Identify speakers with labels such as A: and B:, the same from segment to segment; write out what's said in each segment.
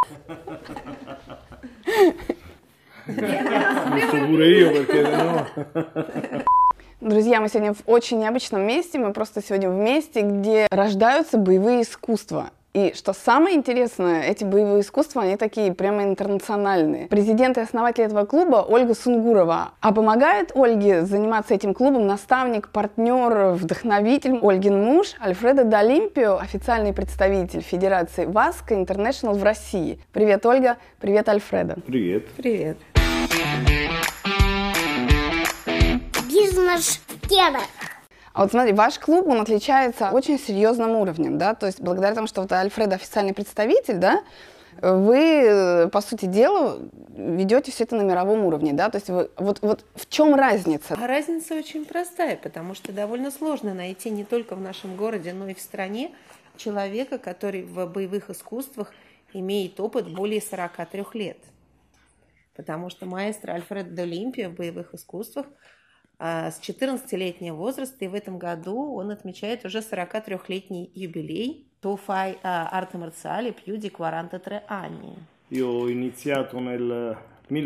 A: Друзья, мы сегодня в очень необычном месте. Мы просто сегодня в месте, где рождаются боевые искусства. И что самое интересное, эти боевые искусства, они такие прямо интернациональные. Президент и основатель этого клуба Ольга Сунгурова. А помогает Ольге заниматься этим клубом наставник, партнер, вдохновитель Ольгин муж Альфредо Д'Олимпио, официальный представитель Федерации Васко Интернешнл в России. Привет, Ольга. Привет, Альфредо.
B: Привет.
C: Привет.
D: Бизнес-тема.
A: А вот смотри, ваш клуб, он отличается очень серьезным уровнем, да, то есть благодаря тому, что вот Альфредо официальный представитель, да, вы, по сути дела, ведете все это на мировом уровне, да, то есть вы, вот в чем разница?
C: А разница очень простая, потому что довольно сложно найти не только в нашем городе, но и в стране человека, который в боевых искусствах имеет опыт более 43 лет. Потому что маэстро Альфредо Д'Олимпио в боевых искусствах с 14-летнего возраста, и в этом году он отмечает уже 43-летний юбилей. Tu fai arte marziale più di 43 anni.
B: Io ho iniziato nel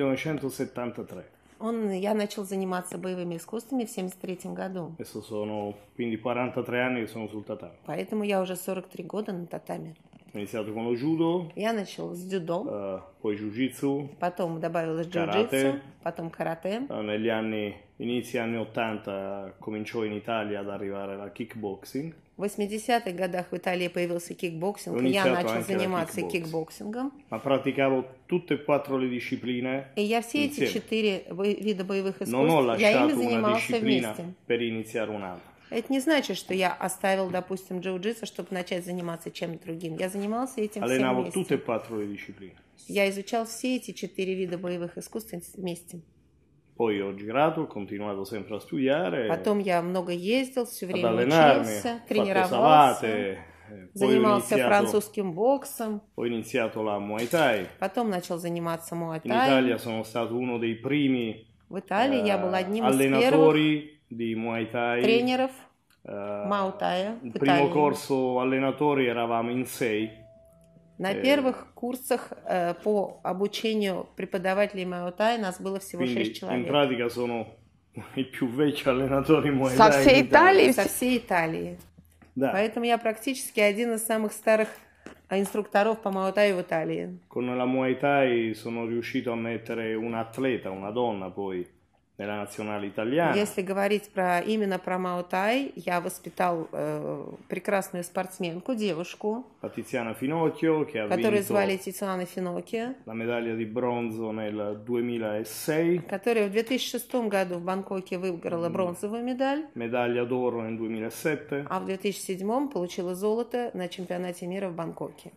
B: 1973.
C: Я начал заниматься боевыми искусствами в 1973 году.
B: Adesso sono quindi 43 anni che sono sul tatami.
C: Поэтому я уже 43 года на татами.
B: Ho iniziato con lo judo,
C: Я начал с дзюдо,
B: poi jiu-jitsu,
C: потом добавилось джиу-джитсу, потом карате.
B: negli inizi anni 80 cominciò in Italia ad arrivare la kickboxing.
C: В 80-х годах в Италии появился кикбоксинг, и я начал заниматься кикбоксингом.
B: Ma praticavo tutte e quattro le discipline.
C: И я все эти 4 вида боевых
B: Non ho
C: искусств, я ими
B: lasciato una
C: занимался
B: disciplina
C: вместе.
B: per iniziare un'altra.
C: Это не значит, что я оставил, допустим, джиу-джитсу, чтобы начать заниматься чем-то другим. Я занимался этим всем
B: Allenavo tutte e
C: вместе.
B: quattro le discipline.
C: Я изучал все эти 4 вида боевых искусств вместе.
B: Poi ho girato, ho continuato sempre a studiare,
C: Потом я много ездил, все
B: ad
C: время
B: allenarmi,
C: учился,
B: ho fatto
C: тренировался,
B: savate, poi
C: занимался французским боксом,
B: ho iniziato la Muay Thai.
C: потом начал заниматься
B: In
C: муай-тай.
B: Italia sono stato uno dei primi
C: В Италии я был одним из первых
B: allenatori di Muay Thai.
C: тренеров Муай-тая
B: Il
C: в
B: primo
C: Италии.
B: corso allenatori eravamo in 6.
C: На первых курсах по обучению преподавателей Муай-Тай нас было всего 6
B: Quindi in
C: человек.
B: pratica sono il più vecchio allenatore Muay
A: Со
B: Thai
A: всей
B: in Italia.
A: Италии?
C: Со всей Италии.
B: Да.
C: Поэтому я практически один из самых старых инструкторов по Муай-Таю в Италии.
B: Con la Muay Thai sono riuscito a mettere un atleta, una donna poi, nella nazionale italiana.
C: Если говорить именно про Муай-Тай, я воспитал прекрасную спортсменку, девушку,
B: Tiziana Finocchio, che ha
C: которую
B: vinto
C: звали Тициана Финоки,
B: la medaglia di bronzo nel 2006,
C: которая в 2006 году в Бангкоке выиграла бронзовую медаль,
B: medaglia d'oro nel 2007.
C: а в 2007 получила золото на чемпионате мира в Бангкоке.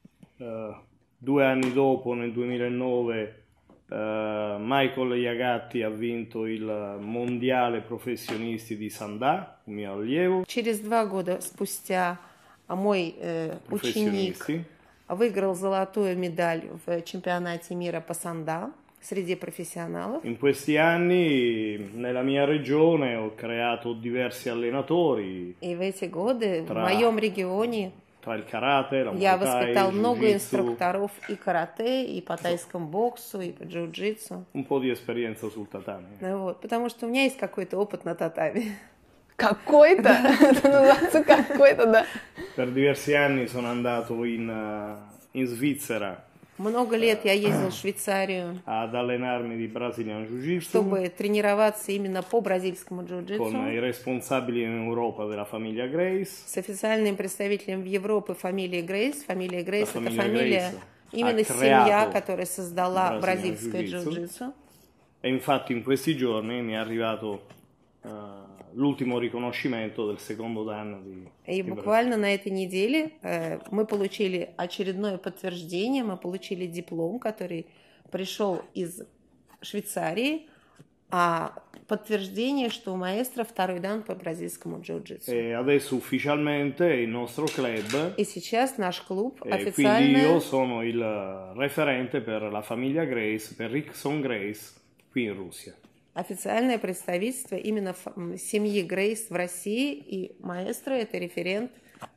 B: 2 anni dopo, nel 2009, Michael Iagatti ha vinto il mondiale professionisti di Sandà, un mio allievo.
C: Через 2 года спустя мой ученик
B: Professionisti.
C: выиграл золотую медаль в чемпионате мира по санда среди профессионалов.
B: In questi anni nella mia regione ho creato diversi allenatori
C: И в эти годы в
B: Тра-
C: моем регионе
B: tra il karate, la
C: я
B: Muay Thai,
C: воспитал
B: il
C: много
B: Jiu-Jitsu,
C: инструкторов и карате, и по тайскому боксу, и по джиу-джитсу.
B: un po' di esperienza sul tatami.
C: Ну вот, потому что у меня есть какой-то опыт на татами.
A: Какой-то? Это называется какой-то, да.
B: Per diversi anni sono andato in Svizzera
C: Много лет я ездил в Швейцарию,
B: ad allenarmi di Brazilian Jiu-Jitsu
C: чтобы тренироваться именно по бразильскому
B: con
C: джиу-джитсу
B: i responsabili in Europa della famiglia Grace.
C: с официальным представителем в Европе фамилии Грейс. Фамилия Грейс – это
B: Фамилия
C: фамилия,
B: Грейс
C: именно
B: ha
C: семья,
B: creato
C: которая создала
B: Brazilian
C: бразильское
B: Jiu-Jitsu.
C: джиу-джитсу.
B: E infatti in questi giorni mi è arrivato l'ultimo riconoscimento del secondo dan
C: И
B: di
C: буквально на этой неделе мы получили очередное подтверждение, мы получили диплом, который пришел из Швейцарии, а подтверждение, что у маэстро второй дан по бразильскому джиу-джитсу.
B: E adesso ufficialmente il nostro club,
C: И сейчас наш клуб
B: quindi io
C: официально,
B: sono il referente per la famiglia Grace, per Rickson Grace qui in Russia.
C: официальное представительство именно семьи Грейс в России, и маэстро – это референт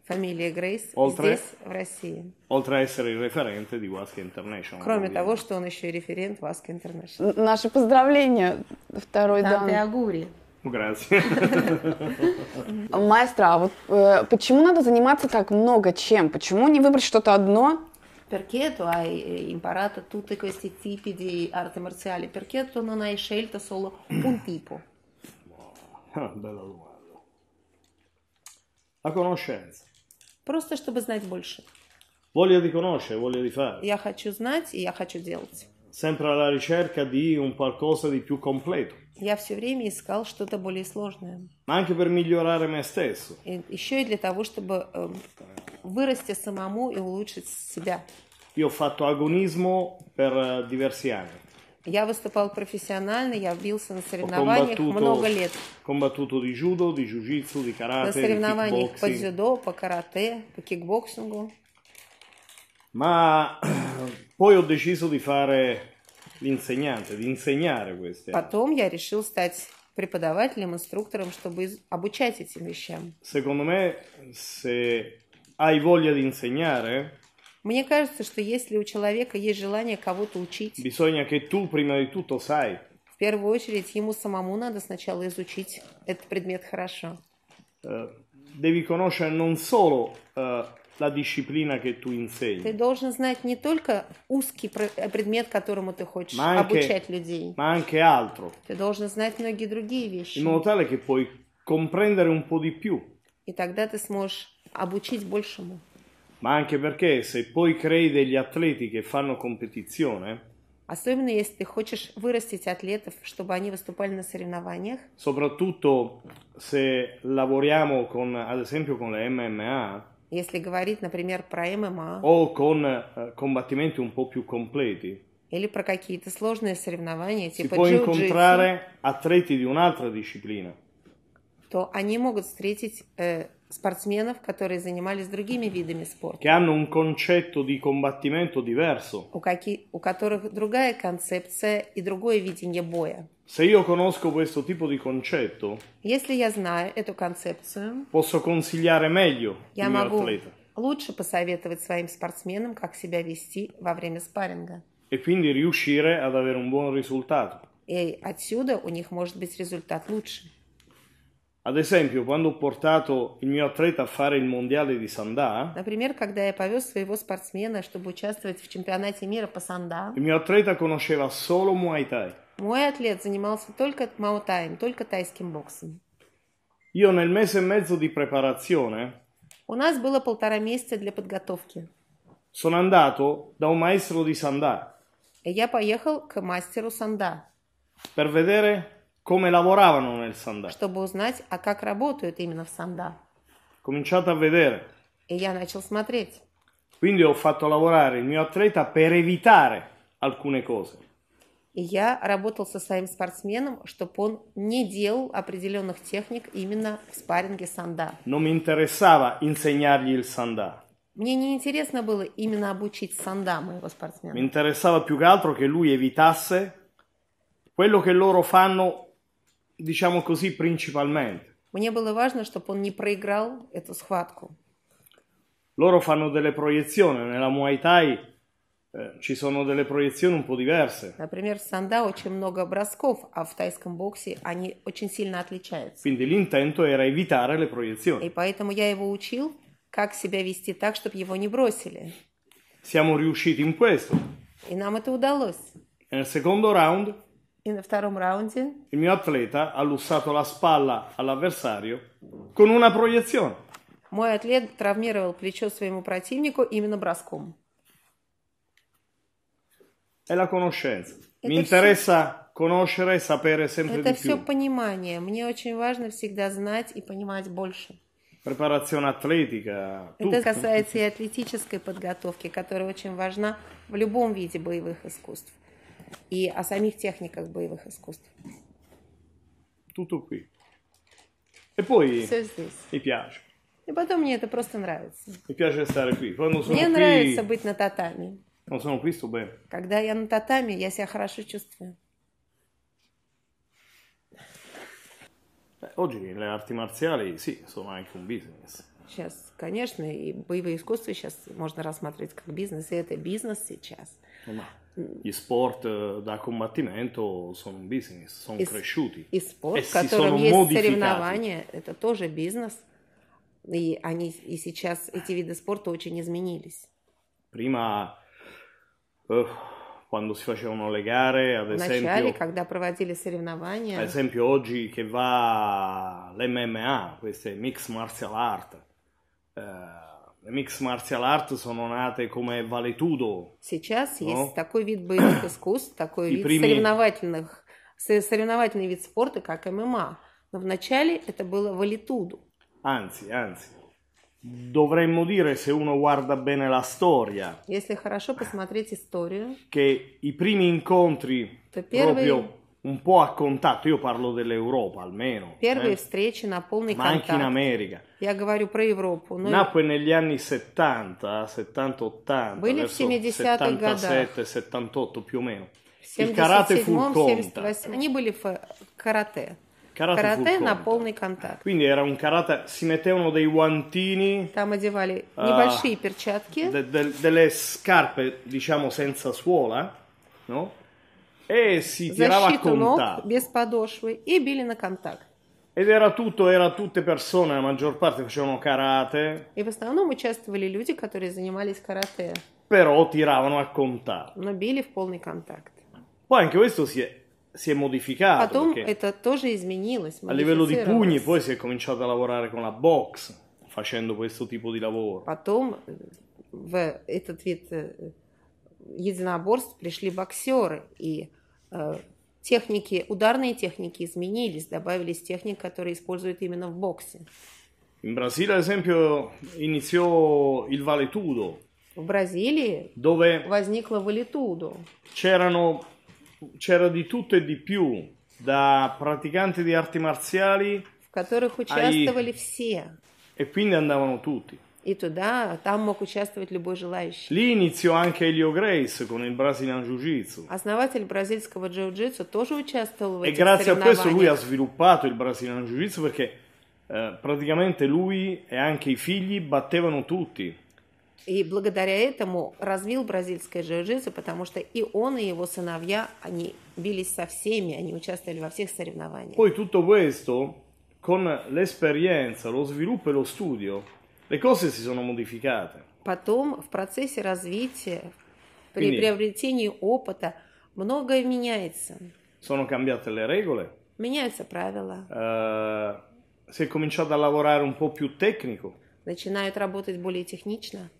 C: фамилия Грейс
B: Oltre-
C: здесь, в России.
B: oltre a essere il referente di Wasca International.
C: Кроме того,
B: ovviamente.
C: что он еще и референт Васка Интернешнл.
A: Наши поздравления, второй
C: Танте
A: дан.
C: Агури.
B: Grazie.
A: Маэстро, а вот почему надо заниматься так много чем? Почему не выбрать что-то одно?
C: Perché tu hai imparato tutti questi tipi di arti marziali? Perché tu non hai scelto solo un tipo?
B: Bella domanda. La conoscenza.
C: Просто чтобы знать больше.
B: Voglia di conoscere, voglia di fare.
C: Я хочу знать, и я хочу делать.
B: Sempre alla ricerca di un qualcosa di più completo.
C: Я все время искал что-то более сложное.
B: Ma anche per migliorare me stesso.
C: И еще и для того, чтобы вырасти самому и улучшить себя.
B: Io ho fatto agonismo per diversi anni.
C: Я выступал профессионально, я бился на
B: Ho
C: соревнованиях много лет.
B: combattuto di judo, di jiu-jitsu, di
C: На
B: karate, di
C: соревнованиях по
B: kickboxing.
C: дзюдо, по карате, по кикбоксингу.
B: Ma poi ho deciso di fare l'insegnante, di insegnare queste.
C: Потом я решил стать преподавателем, инструктором, чтобы обучать этим вещам.
B: Secondo me, se hai voglia di insegnare,
C: Мне кажется, что если у человека есть желание кого-то учить,
B: bisogna che tu prima di tutto sai.
C: в первую очередь ему самому надо сначала изучить этот предмет хорошо.
B: Devi conoscere non solo la disciplina che tu
C: Ты
B: insegni,
C: должен знать не только узкий предмет, которому ты хочешь
B: ma
C: обучать людей.
B: anche altro,
C: Ты должен знать многие другие вещи.
B: in modo tale che puoi comprendere un po' di più.
C: И тогда ты сможешь обучить большему.
B: Ma anche perché se poi crei degli atleti che fanno competizione,
C: Особенно если ты хочешь вырастить атлетов, чтобы они выступали на соревнованиях.
B: soprattutto se lavoriamo con, ad esempio, con le MMA
C: Если говорить, например, про ММА
B: o con combattimenti un po' più completi,
C: или про какие-то сложные соревнования,
B: si
C: типа
B: può
C: джиу-джитсу,
B: incontrare atleti di un'altra disciplina.
C: то они могут встретить спортсменов, которые занимались другими видами спорта,
B: che hanno un concetto di combattimento diverso.
C: у которых другая концепция и другое видение боя.
B: Se io conosco questo tipo di concetto,
C: Если я знаю эту концепцию,
B: posso consigliare meglio
C: я
B: il mio
C: могу
B: atleta
C: лучше посоветовать своим спортсменам, как себя вести во время спарринга.
B: e quindi riuscire ad avere un buon risultato.
C: И отсюда у них может быть результат лучше.
B: Ad esempio, quando ho portato il mio atleta a fare il mondiale di Sandà,
C: Например, когда я повез своего спортсмена, чтобы участвовать в чемпионате мира по санда,
B: il mio atleta conosceva solo Muay Thai.
C: мой атлет занимался только маутаем, только тайским боксом.
B: Io nel mese e mezzo di preparazione
C: У нас было 1,5 месяца для подготовки.
B: sono andato da un maestro di Sandà
C: И я поехал к мастеру санда,
B: per vedere come lavoravano nel Sandà.
C: чтобы узнать, а как работают именно в санда.
B: Ho cominciato a vedere.
C: И я начал смотреть.
B: Quindi ho fatto lavorare il mio atleta per evitare alcune cose.
C: И я работал со своим спортсменом, чтобы он не делал определенных техник именно в спарринге санда.
B: Non mi interessava insegnargli il Sandà.
C: Мне не интересно было именно обучить санда моего
B: Mi
C: спортсмена.
B: interessava più che altro che lui evitasse quello che loro fanno, diciamo così, principalmente.
C: Мне было важно, чтобы он не проиграл эту схватку.
B: Loro fanno delle proiezioni, nella Muay Thai ci sono delle proiezioni un po' diverse.
C: Например, в санда очень много бросков, а в тайском боксе они очень сильно отличаются.
B: Quindi l'intento era evitare le
C: И
B: proiezioni.
C: поэтому я его учил, как себя вести так, чтобы его не бросили.
B: Siamo riusciti in questo.
C: И нам это удалось.
B: Nel secondo round
C: И на втором раунде
B: il mio atleta ha lussato la spalla all'avversario con una proiezione.
C: мой атлет травмировал плечо своему противнику именно броском.
B: È la conoscenza. Mi
C: Это
B: interessa conoscere e sapere sempre
C: Это
B: di
C: все
B: più.
C: понимание. Мне очень важно всегда знать и понимать больше.
B: Preparazione atletica,
C: Это
B: tutto.
C: касается и атлетической подготовки, которая очень важна в любом виде боевых искусств. И о самих техниках боевых искусств.
B: Tutto qui. E poi
C: Все здесь.
B: mi piace.
C: И потом мне это просто нравится.
B: Mi piace stare qui. Quando sono
C: Мне
B: qui,
C: нравится быть на татами.
B: quando sono qui sto bene.
C: Когда я на татами, я себя хорошо чувствую.
B: Oggi le arti marziali, sì, sono anche un business.
C: Сейчас, конечно, и боевые искусства сейчас можно рассматривать как бизнес, и это бизнес сейчас.
B: Ma gli sport da combattimento sono un business, sono cresciuti
C: И спорт,
B: e
C: в
B: si
C: котором
B: sono
C: есть
B: modificati.
C: соревнования, это тоже бизнес. И сейчас эти виды спорта очень изменились.
B: Prima, quando si facevano le gare, ad
C: Вначале,
B: esempio,
C: когда проводили соревнования,
B: oggi che va l'MMA, queste mixed martial art, le mixed martial art sono nate come vale tudo.
C: сейчас
B: No?
C: есть такой вид боевых искусств, такой
B: И
C: вид
B: прими-
C: соревновательный вид спорта, как ММА. Но вначале это было валитуду.
B: Anzi, dovremmo dire, se uno guarda bene la storia,
C: Если хорошо посмотреть историю,
B: che i primi incontri
C: то первые
B: proprio un po' a contatto, io parlo dell'Europa almeno,
C: Первые встречи на полный
B: ma anche in
C: контакт.
B: America,
C: Я говорю про Европу. Но
B: nacque negli anni 70, 70-80,
C: Были в
B: verso
C: 70-х годах.
B: 77-78 più o meno.
C: в
B: Il karate fu il
C: 77-м,
B: contact.
C: 78-м они были в карате.
B: Karate fu il
C: Карате на
B: contact.
C: полный контакт.
B: Quindi era un karate, si mettevano dei guantini,
C: Там одевали небольшие перчатки,
B: delle scarpe, diciamo, senza suola, no? E si tirava a
C: защиту ног
B: contatto.
C: без подошвы и били на контакт.
B: Ed era tutte persone, la maggior parte facevano karate,
C: И в основном участвовали люди, которые занимались карате,
B: però tiravano a contatto.
C: но bili в полный контакт.
B: Poi anche questo si è modificato,
C: Потом
B: perché
C: это тоже изменилось,
B: a livello di pugni
C: модифицировалось.
B: poi si è cominciato a lavorare con la box, facendo questo tipo di lavoro.
C: Потом в этот вид единоборств пришли боксеры, и техники, ударные техники изменились, добавились техники, которые используют именно в боксе.
B: In Brasile, ad esempio, iniziò il valetudo,
C: В Бразилии
B: dove
C: возникло валитудо,
B: c'era di tutto e di più, da praticanti di arti marziali,
C: в которых участвовали все.
B: e quindi andavano tutti.
C: И там мог участвовать любой желающий.
B: Lì iniziò anche Helio Gracie con il Brazilian Jiu-Jitsu.
C: Основатель бразильского джиу-джитсу тоже участвовал в
B: E
C: этих
B: grazie a questo lui ha
C: соревнованиях.
B: sviluppato il Brazilian Jiu-Jitsu perché praticamente lui e anche i figli battevano tutti.
C: И благодаря этому развил бразильское джиу-джитсу, потому что и он, и его сыновья, они бились со всеми, они участвовали во всех соревнованиях.
B: Poi tutto questo, con l'esperienza, lo sviluppo e lo studio, le cose si sono modificate.
C: Потом в процессе развития, при
B: Quindi-
C: приобретении опыта, многое меняется.
B: Sono cambiate le regole,
C: Меняются правила,
B: si è cominciato a lavorare un po' più tecnico
C: начинают работать более технично.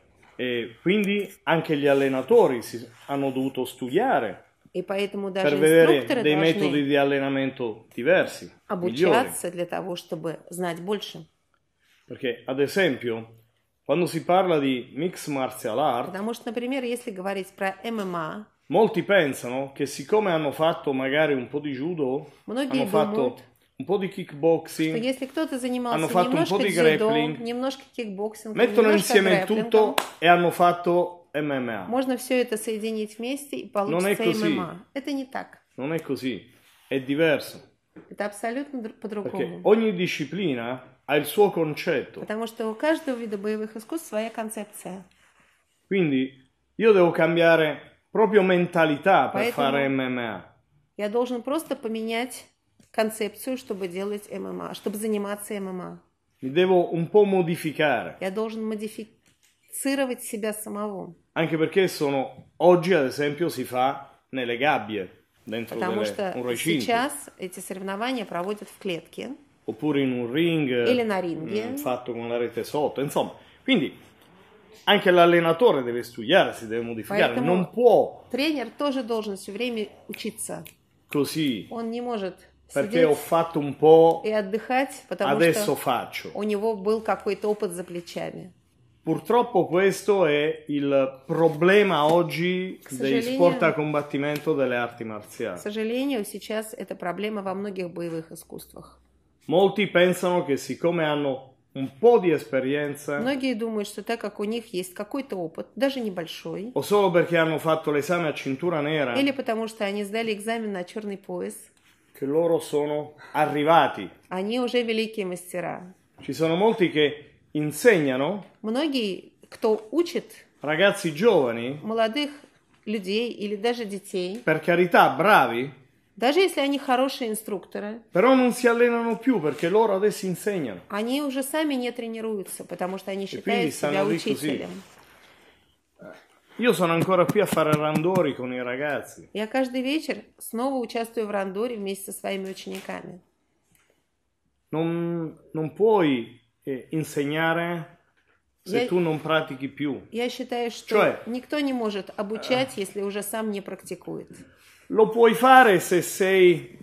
B: e quindi anche gli allenatori hanno dovuto studiare
C: И поэтому
B: per
C: даже
B: vedere
C: инструкторы
B: dei metodi
C: должны
B: di allenamento diversi, migliori.
C: обучаться для того, чтобы знать больше.
B: Perché, ad esempio, quando si parla di mixed martial art,
C: Потому что, например, если говорить про ММА,
B: molti pensano che siccome hanno fatto magari un po' di judo,
C: Многие
B: hanno fatto
C: думают,
B: un po' di
C: что
B: kickboxing,
C: если кто-то занимался
B: hanno fatto un po'
C: немножко
B: di
C: дзюдо,
B: grappling,
C: немножко кикбоксингом,
B: mettono
C: немножко
B: insieme il
C: грэпплингом,
B: tutto e hanno fatto MMA.
C: можно все это соединить вместе и
B: Non è
C: получится
B: così.
C: ММА. Это не так.
B: Non è così, è diverso.
C: Это абсолютно
B: Perché
C: по-другому.
B: ogni disciplina ha il suo concetto.
C: Потому что у каждого вида боевых искусств своя концепция.
B: Quindi io devo cambiare proprio mentalità per
C: Поэтому-
B: fare MMA.
C: Я должен просто поменять концепцию, чтобы делать ММА, чтобы заниматься ММА.
B: Mi devo un po' modificare.
C: Я должен модифицировать себя самого.
B: Anche perché oggi, ad esempio, si fa nelle gabbie, dentro
C: Потому что
B: un recinto,
C: сейчас эти соревнования проводят в клетке
B: oppure in un ring
C: или на ринге.
B: fatto con la rete sotto, insomma. Quindi anche l'allenatore deve studiare, si deve modificare,
C: Поэтому
B: non può
C: тренер тоже должен все время учиться.
B: così,
C: Он не может
B: perché ho
C: сидеть
B: fatto un po',
C: и отдыхать, потому
B: adesso
C: что
B: faccio.
C: у него был какой-то опыт за плечами.
B: Purtroppo questo è il problema oggi dei
C: soggelinio-
B: sport a combattimento delle arti
C: К
B: marziali.
C: сожалению, сейчас это проблема во многих боевых искусствах.
B: Molti pensano che siccome hanno un po' di esperienza
C: Многие думают, что так как у них есть какой-то опыт, даже небольшой,
B: o solo perché hanno fatto l'esame a cintura nera,
C: или потому что они сдали экзамен на черный пояс,
B: che loro sono arrivati.
C: они уже великие мастера.
B: Ci sono molti che insegnano
C: Многие, кто учит
B: ragazzi giovani,
C: молодых людей или даже детей,
B: per carità, bravi,
C: даже если они хорошие инструкторы,
B: però non si allenano più perché loro adesso insegnano.
C: они уже сами не тренируются, потому что они
B: quindi
C: считают себя
B: stanno lì così.
C: учителем.
B: Io sono ancora qui a fare randori con i ragazzi.
C: Я каждый вечер снова участвую в рандоре вместе со своими учениками.
B: Non puoi insegnare se tu non pratichi più.
C: Я считаю, что никто не может обучать, если уже сам не практикует.
B: Lo puoi fare se sei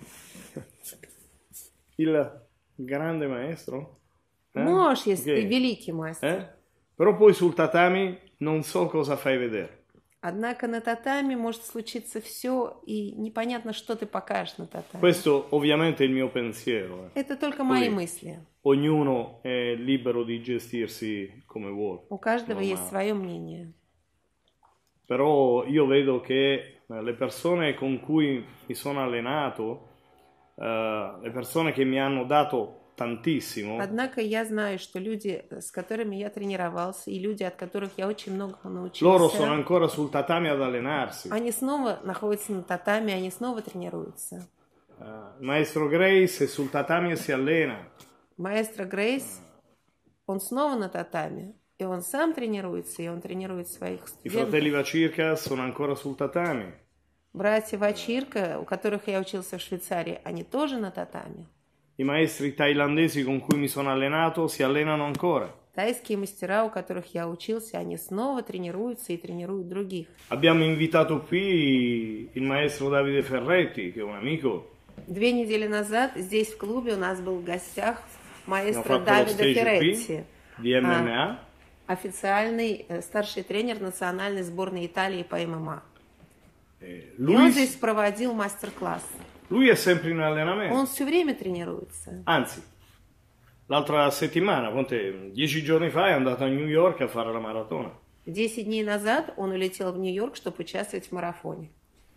B: il grande maestro?
C: Можешь, если ты великий мастер.
B: Però poi sul tatami non so cosa fai vedere.
C: Однако на татами может случиться все, и непонятно, что ты покажешь на татами.
B: Questo ovviamente è il mio pensiero.
C: Это только мои мысли.
B: Ognuno è libero di gestirsi come vuole.
C: У каждого есть свое мнение.
B: Però io vedo che le persone con cui mi sono allenato, le persone che mi hanno dato tantissimo.
C: Однако я знаю, что люди, с которыми я тренировался, и люди, от которых я очень много научился,
B: loro sono ancora sul tatami ad allenarsi.
C: Они снова находятся на татами, они снова тренируются.
B: Maestro Grace è sul tatami e si allena.
C: Маэстро Грейс, он снова на татами, и он сам тренируется, и он тренирует своих
B: I fratelli
C: студентов.
B: Vacirca sono ancora sul tatami.
C: Братья Вачирка, у которых я учился в Швейцарии, они тоже на татами.
B: I maestri thailandesi con cui mi sono allenato si allenano ancora.
C: Тайские мастера, у которых я учился, они снова тренируются и тренируют других.
B: Abbiamo invitato qui il maestro Davide Ferretti, che è un amico.
C: 2 недели назад здесь в клубе у нас был в гостях маэстро
B: fatto lo
C: Давида
B: stage
C: Ферретти,
B: di MMA.
C: официальный старший тренер национальной сборной Италии по ММА. И он
B: Lui,
C: здесь проводил мастер-класс.
B: lui è sempre in allenamento.
C: Он все время тренируется.
B: Anzi, l'altra settimana, 10 giorni fa, è andato a New York a fare la maratona.
C: 10 дней назад он улетел в Нью-Йорк, чтобы участвовать в марафоне.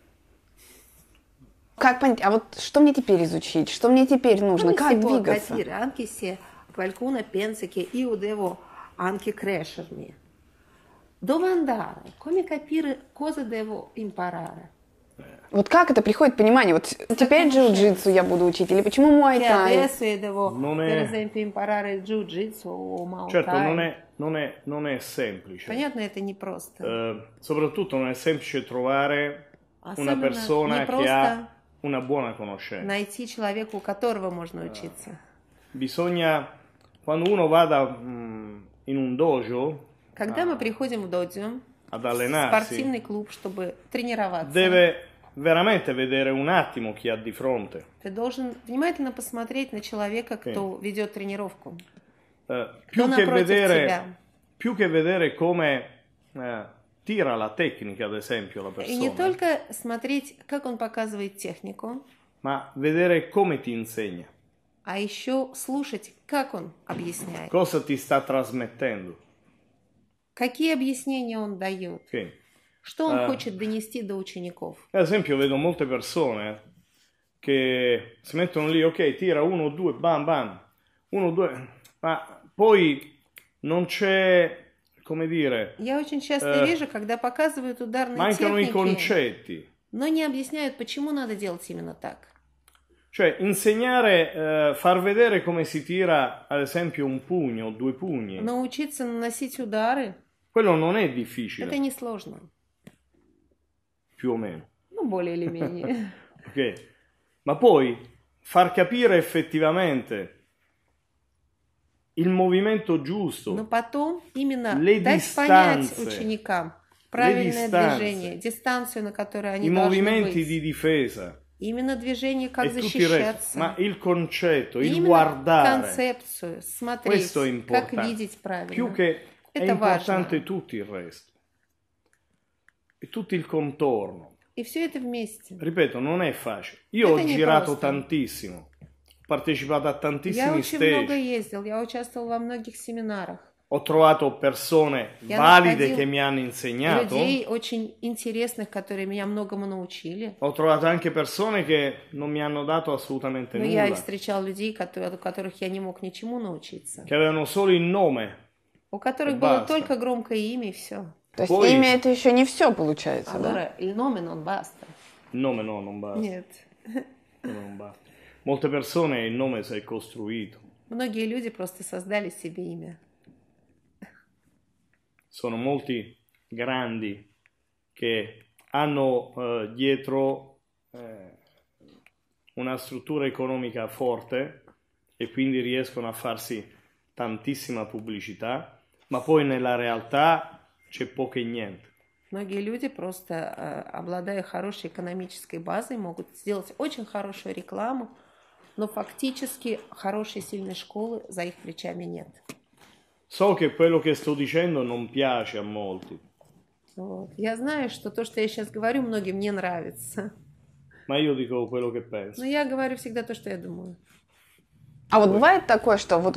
A: Как понять, а вот что мне теперь изучить? Что мне теперь нужно? Как двигаться?
C: Anche se qualcuno pensa che io devo anche crescermi. Dove andare? Come capire cosa devo imparare?
A: Вот как это приходит понимание? Вот теперь джиу-джитсу я буду учить, или почему муай-тай?
C: Adesso io devo, per esempio, imparare il jiu-jitsu o muay thai.
B: Certo, non è semplice.
C: Понятно, это не просто.
B: Soprattutto non è semplice trovare una persona che ha una buona conoscenza.
C: Найти человека, у которого можно учиться.
B: Bisogna, quando uno vada in un dojo,
C: Когда мы приходим в додзё,
B: ad allenarsi,
C: спортивный клуб, чтобы тренироваться,
B: deve veramente vedere un attimo chi ha di fronte.
C: ты должен внимательно посмотреть на человека, кто ведет тренировку.
B: Più che vedere come tira la tecnica, ad esempio, la
C: И не
B: persona,
C: только смотреть, как он показывает технику,
B: ma vedere come ti insegna,
C: а еще слушать, как он объясняет.
B: cosa ti sta trasmettendo.
C: Какие объяснения он дает?
B: Sì.
C: Что он хочет донести до учеников?
B: Ad esempio, vedo molte persone che si mettono lì, ok, tira 1, 2, bam, bam, 1, 2, ma poi non c'è, come dire,
C: Я очень часто вижу, когда показывают ударные
B: mancano i
C: техники,
B: concetti.
C: но не объясняют, почему надо делать именно так.
B: Cioè, insegnare, far vedere come si tira, ad esempio, un pugno o 2 pugni,
C: Научиться наносить удары,
B: quello non è
C: это
B: difficile,
C: несложно.
B: più o meno.
C: Ну, более или менее.
B: Ok? Ma poi far capire effettivamente il movimento giusto,
C: Но потом именно
B: Le
C: дать понять
B: distanze.
C: ученикам правильное
B: distanze.
C: движение, дистанцию, на которой
B: i
C: они должны
B: movimenti
C: быть.
B: di difesa
C: Именно движение, как
B: e tutto il resto,
C: защищаться.
B: ma il concetto, il
C: Именно
B: guardare,
C: концепцию, смотреть,
B: questo è
C: как
B: importante,
C: видеть правильно.
B: più che è
C: Это
B: importante
C: важно.
B: tutto il resto, e tutto il contorno.
C: И все это вместе.
B: Ripeto, non è facile. Io ho
C: Это не
B: girato
C: просто.
B: tantissimo, ho partecipato a
C: Я
B: tantissimi
C: очень много
B: stage,
C: ездил, я участвовал во многих семинарах.
B: ho trovato persone
C: Я
B: valide
C: находил
B: che mi hanno insegnato,
C: людей очень интересных, которые меня многому научили.
B: ho trovato anche persone che non mi hanno dato assolutamente
C: Но я и
B: nulla,
C: встречал людей, у которых я не мог ничему научиться.
B: che avevano solo il nome
C: у которых
B: E
C: было
B: basta.
C: только громкое имя и все.
A: То есть
B: Poi-
A: имя это еще не все получается, да?
C: Allora, il nome non basta.
B: Il nome no, non basta.
C: Нет.
B: Il nome non basta. Molte persone il nome si è costruito.
C: Многие люди просто создали себе имя.
B: Sono molti grandi che hanno dietro una struttura economica forte e quindi riescono a farsi tantissima pubblicità, ma poi nella realtà c'è poco e niente.
C: Многие люди просто, обладая хорошей экономической базой, могут сделать очень хорошую рекламу, но фактически хорошей сильной школы за их плечами нет.
B: So che quello che sto dicendo non piace a molti,
C: Вот. Я знаю, что то, что я сейчас говорю, многим не нравится.
B: ma io dico quello che penso.
C: Но я говорю всегда то, что я думаю.
A: А вот бывает такое, что вот,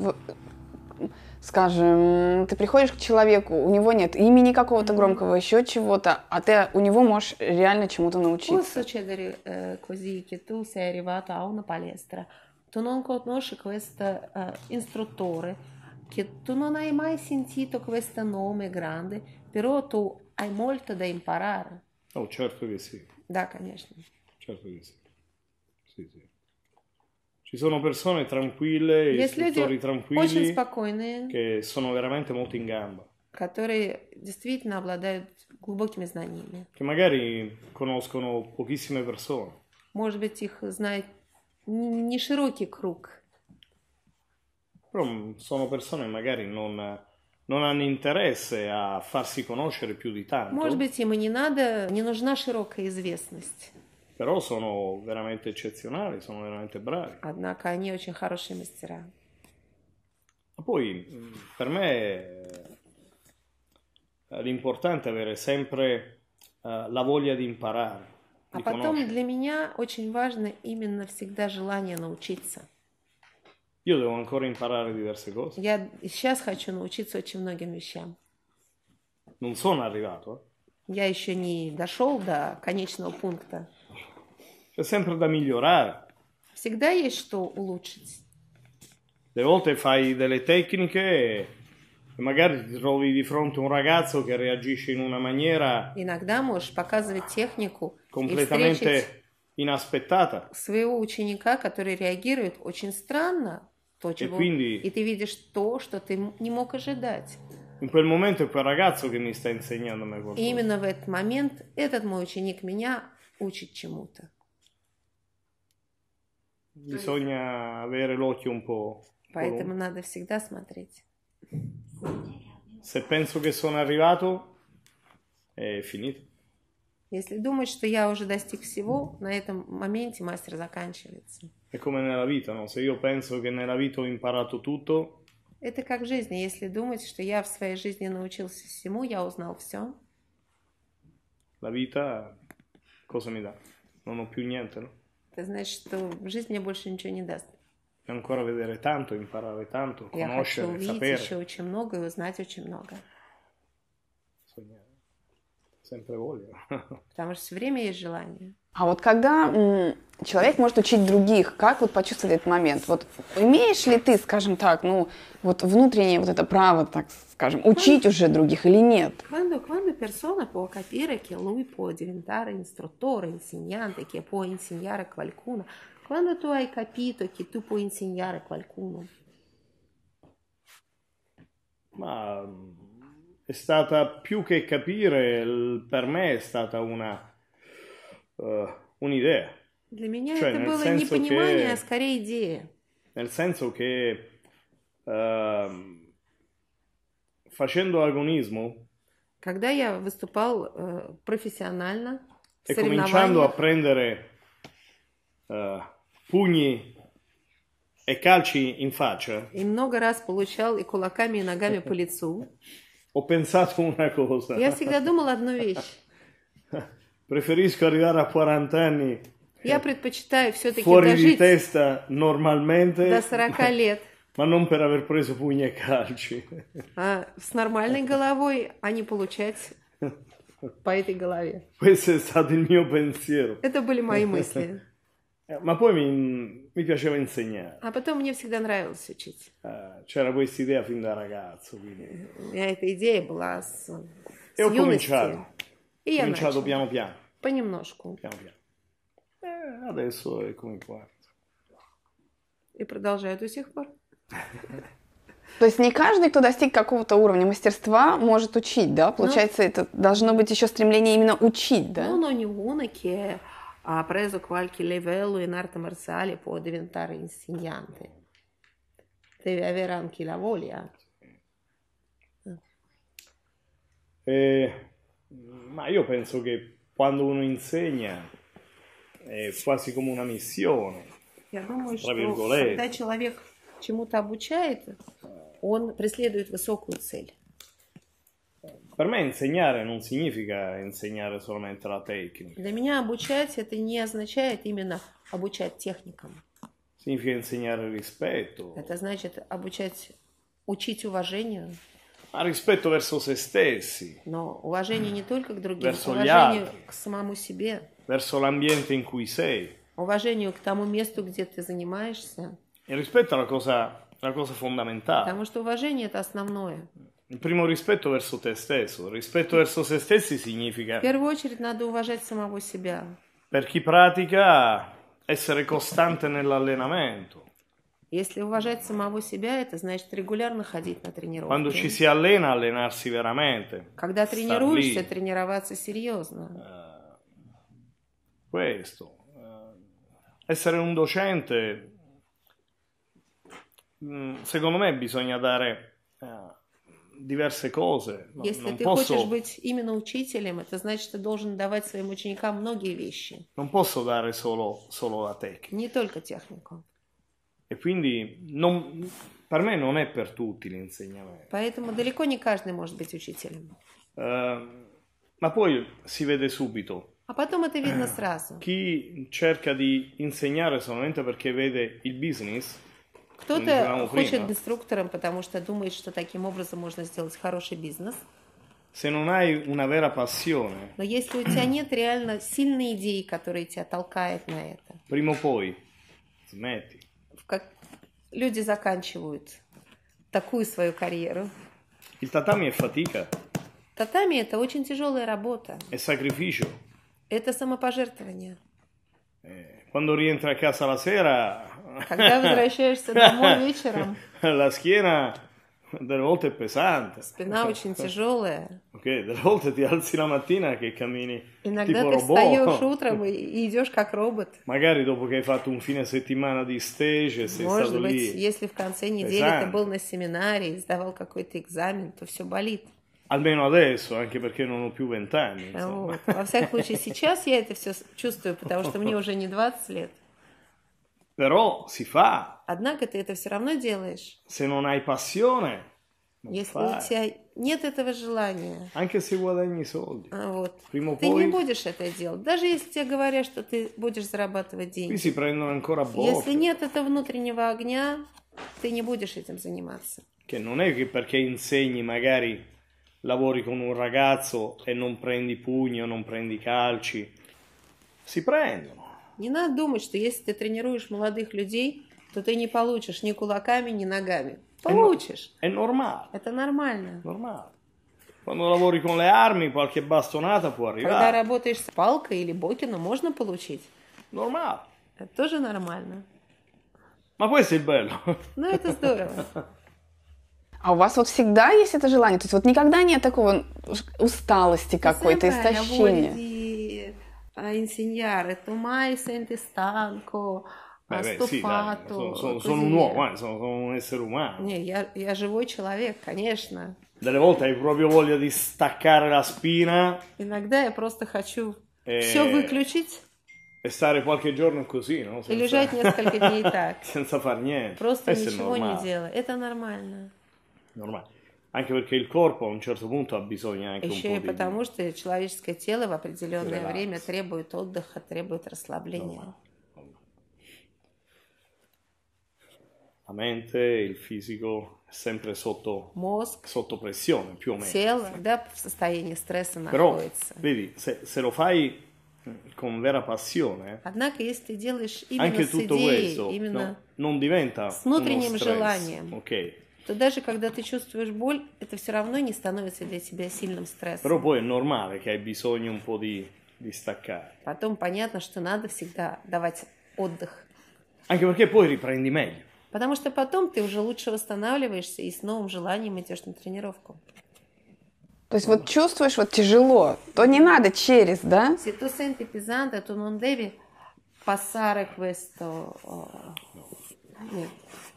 A: скажем, ты приходишь к человеку, у него нет имени какого-то громкого, еще чего-то, а ты у него можешь реально чему-то
C: Può
A: научиться.
C: succedere così che tu sei arrivato a una palestra, tu non conosci questo istruttore, che tu non hai mai sentito questo nome grande, però tu hai molto da imparare.
B: Oh, certo che sì,
C: Да, конечно.
B: certo che sì. Sì, sì. Ci sono persone tranquille,
C: Есть люди
B: istruttori
C: очень
B: tranquilli
C: спокойные,
B: che sono veramente molto in gamba,
C: которые действительно обладают глубокими знаниями.
B: che magari conoscono pochissime persone,
C: Может быть, их знает не широкий круг,
B: però sono persone che magari non hanno interesse a farsi conoscere più di tanto,
C: может быть, им и не нужна широкая известность.
B: però sono veramente eccezionali, sono veramente bravi.
C: Однако они очень хорошие мастера.
B: Ma poi per me l'importante è avere sempre la voglia di imparare,
C: А
B: di
C: потом
B: conoscere.
C: для меня очень важно именно всегда желание научиться.
B: Io devo ancora imparare diverse cose.
C: Я и сейчас хочу научиться очень многим вещам.
B: Non sono arrivato,
C: Я еще не дошел до конечного пункта.
B: C'è sempre da migliorare.
C: Всегда есть что улучшить.
B: Delle volte fai delle tecniche e magari ti trovi di fronte a un ragazzo che reagisce in una maniera
C: Иногда можешь показывать технику и встретить
B: completamente inaspettata.
C: своего ученика, который реагирует очень странно, то, чего...
B: quindi-
C: и ты видишь то, что ты не мог ожидать.
B: In quel momento è quel ragazzo che mi sta insegnando a me
C: И
B: qualcosa.
C: именно в этот момент этот мой ученик меня учит чему-то.
B: Bisogna avere l'occhio un po'.
C: Поэтому надо всегда смотреть.
B: Se penso che sono arrivato, è finito.
C: Если думать, что я уже достиг всего, на этом моменте мастер заканчивается.
B: È come nella vita, no? Se io penso che nella vita ho imparato tutto,
C: Это как в жизни. Если думать, что я в своей жизни научился всему, я узнал все,
B: la vita cosa mi dà? Non ho più niente, no?
C: это значит, что жизнь мне больше ничего не даст.
B: Devo ancora vedere tanto, imparare tanto,
C: Я хочу
B: conoscere,
C: увидеть
B: sapere.
C: еще очень много и узнать очень много.
B: Bisogna sempre voglia.
C: Потому что все время есть желание.
A: А вот когда человек может учить других, как вот почувствовать этот момент? Вот имеешь ли ты, скажем так, ну вот внутреннее вот это право, так скажем, учить уже других или нет?
C: Quando persona può capire che lui può diventare istruttore, insegnante, che può insegnare qualcuno, quando tu hai capito che tu puoi insegnare qualcuno,
B: Ma è stata più che capire, per me è stata un'idea.
C: для меня
B: Cioè,
C: это
B: nel
C: было не
B: senso
C: понимание,
B: che-
C: а скорее идея.
B: Nel senso che facendo agonismo
C: Когда я выступал профессионально в
B: e cominciando a
C: соревнованиях,
B: prendere pugni e calci in faccia,
C: и много раз получал и кулаками, и ногами по лицу,
B: ho pensato una cosa.
C: я всегда думал одну вещь.
B: Preferisco arrivare a 40 anni
C: Я предпочитаю все-таки
B: fuori di
C: дожить
B: testa normalmente,
C: до 40 лет
B: ma non per aver preso pugni e calci.
C: с нормальной головой, а не получать по этой голове.
B: Questo è stato il mio pensiero.
C: Это были мои мысли.
B: Ma poi mi piaceva insegnare.
C: А потом мне всегда нравилось учить.
B: C'era questa idea fin da ragazzo. Quindi.
C: У меня эта идея была с
B: E ho
C: юности.
B: cominciato.
C: И
B: Ho
C: я
B: cominciato
C: начала.
B: piano piano.
C: Понемножку.
B: Piano piano. Adesso è come qua.
C: И продолжаю до сих пор.
A: То есть не каждый, кто достиг какого-то уровня мастерства, может учить, да? Получается, это должно быть еще stремление imенно учить, да?
C: Non ognuno che ha preso qualche livello in arte marziale può diventare insegnante. Deve avere anche la voglia.
B: Ma io penso che quando uno insegna è quasi come una missione.
C: Я думаю,
B: Про
C: что
B: Виргулей.
C: когда человек чему-то обучает, он преследует высокую цель.
B: Per me insegnare non significa insegnare solamente la tecnica,
C: Для меня обучать это не означает именно обучать техникам.
B: significa insegnare rispetto,
C: Это значит учить уважению,
B: ma rispetto verso se stessi,
C: но уважение не только к другим,
B: Verso gli
C: уважение
B: altri.
C: к самому себе,
B: verso l'ambiente in cui sei.
C: уважению к тому месту, где ты занимаешься,
B: Il rispetto è la cosa fondamentale.
C: потому что уважение это основное.
B: Il primo rispetto verso te stesso. Il rispetto verso se stessi significa,
C: В первую очередь надо уважать самого себя.
B: per chi pratica, essere costante nell'allenamento.
C: Если уважать самого себя, это значит регулярно ходить на
B: Quando ci
C: тренировки.
B: si allena, allenarsi veramente.
C: Когда
B: Star
C: тренируешься,
B: lì.
C: тренироваться серьезно.
B: Questo. Essere un docente, secondo me bisogna dare diverse cose.
C: Если
B: Non
C: ты хочешь
B: posso,
C: быть именно учителем, это значит, ты должен давать своим ученикам многие вещи,
B: non posso dare solo la tecnica.
C: не только технику.
B: E quindi per me non è per tutti l'insegnamento.
C: Поэтому далеко не каждый может быть учителем.
B: Ma poi si vede subito.
C: А потом это видно сразу.
B: Chi cerca di insegnare solamente perché vede il business, come
C: Кто-то
B: dicevamo
C: хочет
B: prima,
C: инструктором, потому что думает, что таким образом можно сделать хороший бизнес.
B: se non hai una vera passione,
C: Но если у тебя нет реально сильной идеи, которая тебя толкает на это,
B: prima o poi smetti.
C: как люди заканчивают такую свою карьеру.
B: Il tatami è fatica,
C: Татами это очень тяжелая работа.
B: è sacrificio.
C: Это самопожертвование.
B: Quando rientri a casa la sera,
C: Когда возвращаешься домой вечером,
B: la schiena delle volte è pesante.
C: спина очень тяжелая.
B: Ok, delle volte ti alzi la mattina che cammini
C: Иногда
B: tipo
C: ты встаешь
B: robot.
C: утром и идешь как робот.
B: Magari dopo che hai fatto un fine settimana di stage, sei
C: Может
B: stato
C: быть,
B: lì.
C: если в конце недели ты был на семинаре и сдавал какой-то экзамен, то все болит.
B: Almeno adesso, anche perché non ho più 20 anni. Insomma.
C: Вот. Во всяком случае, сейчас я это все чувствую, потому что мне уже не 20 лет.
B: Però si fa.
C: Однако ты это все равно делаешь.
B: Se non hai passione, non
C: Если
B: fai.
C: у тебя нет этого желания,
B: Anche se guadagni soldi.
C: вот,
B: Prima o
C: ты не
B: poi
C: будешь это делать. Даже если тебе говорят, что ты будешь зарабатывать
B: qui
C: деньги.
B: si prendono ancora a
C: Если
B: botte.
C: нет этого внутреннего огня, ты не будешь этим заниматься.
B: Che non è che perché insegni magari lavori con un ragazzo e non prendi pugni o non prendi calci. Si prendono.
C: Не надо думать, что если ты тренируешь молодых людей, то ты не получишь ни кулаками, ни ногами. Получишь.
B: È normale.
C: Это нормально.
B: Normale. Quando lavori con le armi, qualche bastonata può
C: Когда
B: arrivare.
C: работаешь с палкой или бокином, можно получить.
B: Normale.
C: Это тоже нормально.
B: Ma questo è il bello.
C: Но это здорово.
A: А у вас вот всегда есть это желание? То есть вот никогда нет такого усталости какой-то,
C: Sempre hai la voglia
A: истощения?
C: di insegnare, tu mai senti stanco,
B: Beh, sì, dai,
C: stufato.
B: sono
C: così
B: un
C: via.
B: uomo, sono un essere umano.
C: Не, я живой человек, конечно.
B: Delle volte hai proprio voglia di staccare la spina
C: Иногда я просто хочу
B: Eh,
C: все выключить
B: e stare qualche giorno così, no?
C: и лежать несколько дней так.
B: senza far niente.
C: Просто
B: Questo è
C: ничего не
B: normale.
C: делать. Это нормально.
B: Normale. Anche perché il corpo a un certo punto ha bisogno anche un
C: Еще
B: po'
C: и
B: di...
C: потому, что человеческое тело в определенное
B: Релакс.
C: время требует отдыха, требует расслабления.
B: La mente, il fisico è sempre sotto
C: Мозг,
B: pressione, più o meno.
C: тело, да, в состоянии стресса
B: Però,
C: находится.
B: vedi, se lo fai con vera passione,
C: Однако, если ты делаешь именно
B: anche
C: с
B: tutto
C: идеей,
B: questo
C: именно
B: non diventa
C: с
B: uno
C: внутренним
B: stress,
C: желанием,
B: ok?
C: то даже когда ты чувствуешь боль, это все равно не становится для тебя сильным
B: Però
C: стрессом.
B: poi è normale che hai bisogno un po' di staccare,
C: Потом понятно, что надо всегда давать отдых.
B: anche perché poi riprendi meglio.
C: Потому что потом ты уже лучше восстанавливаешься и с новым желанием идешь на тренировку.
A: То есть вот чувствуешь, вот тяжело, то не надо через, да?
C: Se tu senti pesante, tu non devi passare questo... Нет.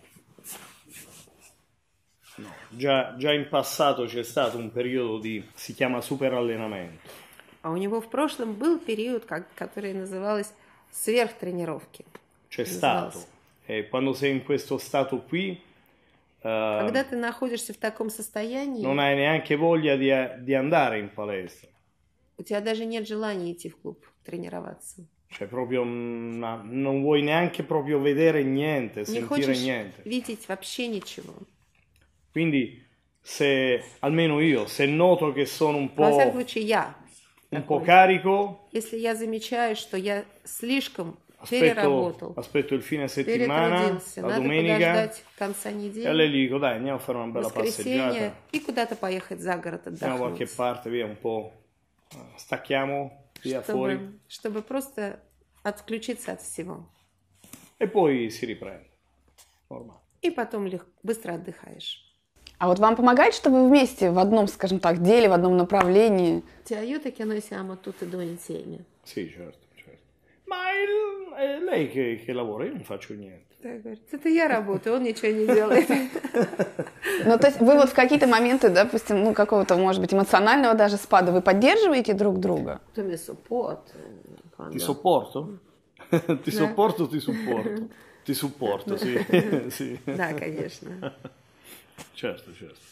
B: No, già in passato c'è stato un periodo si chiama superallenamento.
C: А у него в прошлом был период, который назывался сверхтренировки.
B: C'è stato. E quando sei in questo stato qui,
C: Когда ты находишься в таком состоянии,
B: non hai neanche voglia di andare in palestra.
C: у тебя даже нет желания идти в клуб тренироваться.
B: Cioè proprio non vuoi neanche proprio vedere niente,
C: Не
B: sentire
C: хочешь
B: niente.
C: видеть вообще ничего.
B: Quindi se, almeno io, se noto che sono
C: Во всяком случае, я.
B: un po'
C: такой.
B: carico,
C: Если я замечаю, что я слишком переработал,
B: aspetto il fine settimana,
C: перетрудился,
B: la
C: надо
B: domenica,
C: подождать конца
B: e allora
C: недели,
B: gli dico dai andiamo a fare una bella
C: воскресенье,
B: passeggiata,
C: и куда-то поехать за город
B: andiamo da qualche
C: отдохнуть.
B: parte, via un po', stacchiamo via fuori
C: Чтобы просто отключиться от всего.
B: e poi si riprende. Normale.
C: И потом быстро отдыхаешь.
A: А вот вам помогает, что вы вместе в одном, скажем так, деле, в одном направлении?
C: Ti aiuta che noi siamo tutti e due insieme.
B: Sì, certo. Ma è lei che lavora, io non faccio niente.
C: Так, говорит, это я работаю, он ничего не делает.
A: Ну, то есть вы вот в какие-то моменты, допустим, ну, какого-то, может быть, эмоционального даже спада, вы поддерживаете друг друга?
C: Tu mi supporti.
B: Ti sopporto? Ti sopporto, ti supporto. Ti supporto, sì. Sì.
C: Да, конечно.
B: Certo.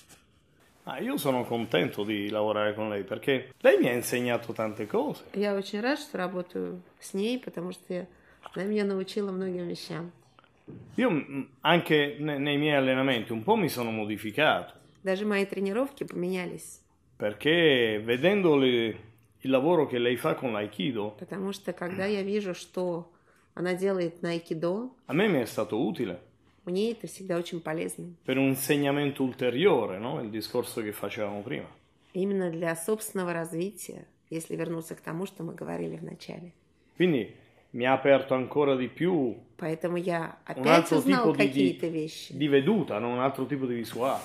B: Io sono contento di lavorare con lei perché lei mi ha insegnato tante cose.
C: Я очень рад, что работаю с ней, потому что она меня научила многим вещам.
B: Io anche nei miei allenamenti un po' mi sono modificato.
C: Даже мои тренировки поменялись.
B: Perché vedendo il lavoro che lei fa con l'Aikido,
C: Потому что когда я вижу, что она делает на айкидо,
B: a me mi è stato utile
C: мне это всегда очень полезно.
B: per un insegnamento ulteriore, no? Il discorso che facevamo prima.
C: Именно для собственного развития, если вернуться к тому, что мы говорили в начале.
B: Quindi mi ha aperto ancora di più
C: Поэтому я
B: un
C: опять
B: altro
C: узнал
B: tipo
C: какие-то вещи.
B: di veduta, no? Un altro tipo di visuale.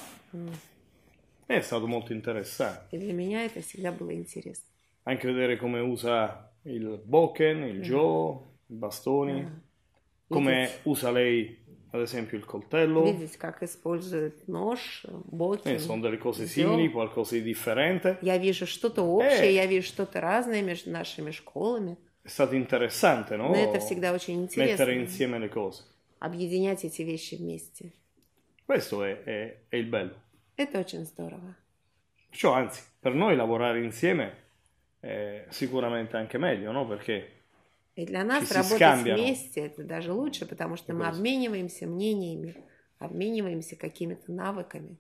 B: È stato molto interessante.
C: И для меня это всегда было интересно.
B: Anche vedere come usa il bokken, il jo, i bastoni, come usa lei ad esempio il coltello.
C: Видеть, как используют нож, боки.
B: Sono delle cose simili, qualcosa di differente.
C: Я вижу что-то общее, я вижу что-то разное между нашими школами.
B: È stato interessante, no?
C: Но это всегда очень интересно.
B: Mettere insieme le cose.
C: Объединять эти вещи вместе.
B: Questo è il bello.
C: Это очень здорово.
B: Perciò, anzi, per noi lavorare insieme è sicuramente anche meglio, no? Perché
C: И для нас
B: si
C: работать
B: scambiano.
C: вместе это даже лучше, потому что мы обмениваемся мнениями, обмениваемся какими-то навыками.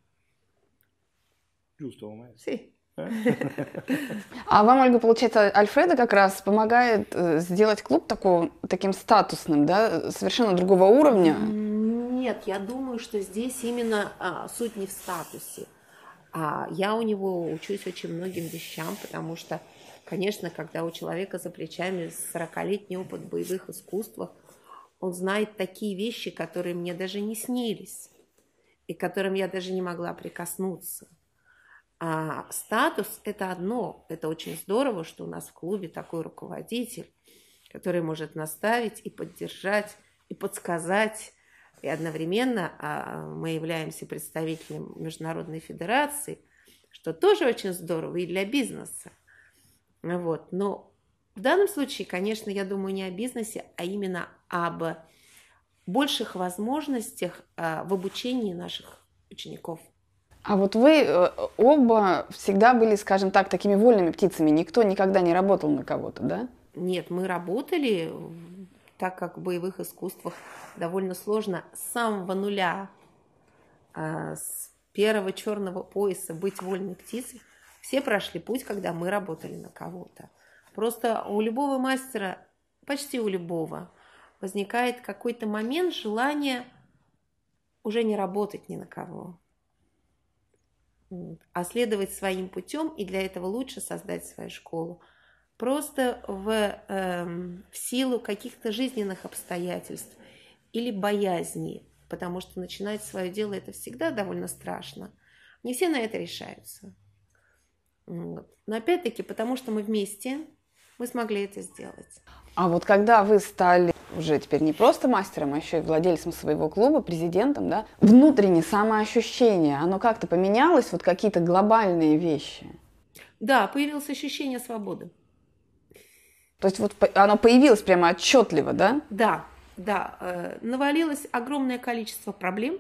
B: Giusto, come?
C: Sì.
A: А вам, Ольга, получается, Альфредо как раз помогает сделать клуб таким статусным, да, совершенно другого уровня?
C: Нет, я думаю, что здесь именно суть не в статусе. Я у него учусь очень многим вещам, потому что, конечно, когда у человека за плечами 40-летний опыт в боевых искусствах, он знает такие вещи, которые мне даже не снились, и к которым я даже не могла прикоснуться. А статус – это одно. Это очень здорово, что у нас в клубе такой руководитель, который может наставить и поддержать, и подсказать. И одновременно мы являемся представителем Международной Федерации, что тоже очень здорово и для бизнеса. Вот. Но в данном случае, конечно, я думаю не о бизнесе, а именно об больших возможностях в обучении наших учеников.
A: А вот вы оба всегда были, скажем так, такими вольными птицами. Никто никогда не работал на кого-то, да?
C: Нет, мы работали, так как в боевых искусствах довольно сложно с самого нуля, с первого черного пояса быть вольной птицей. Все прошли путь, когда мы работали на кого-то. Просто у любого мастера, почти у любого, возникает какой-то момент желания уже не работать ни на кого, а следовать своим путем, и для этого лучше создать свою школу. Просто в силу каких-то жизненных обстоятельств или боязней, потому что начинать свое дело это всегда довольно страшно. Не все на это решаются. Вот. Но опять-таки, потому что мы вместе, мы смогли это сделать.
A: А вот когда вы стали уже теперь не просто мастером, а еще и владельцем своего клуба, президентом, да, внутреннее самоощущение, оно как-то поменялось, вот какие-то глобальные вещи?
C: Да, появилось ощущение свободы.
A: То есть вот оно появилось прямо отчетливо, да?
C: Да, да. Навалилось огромное количество проблем,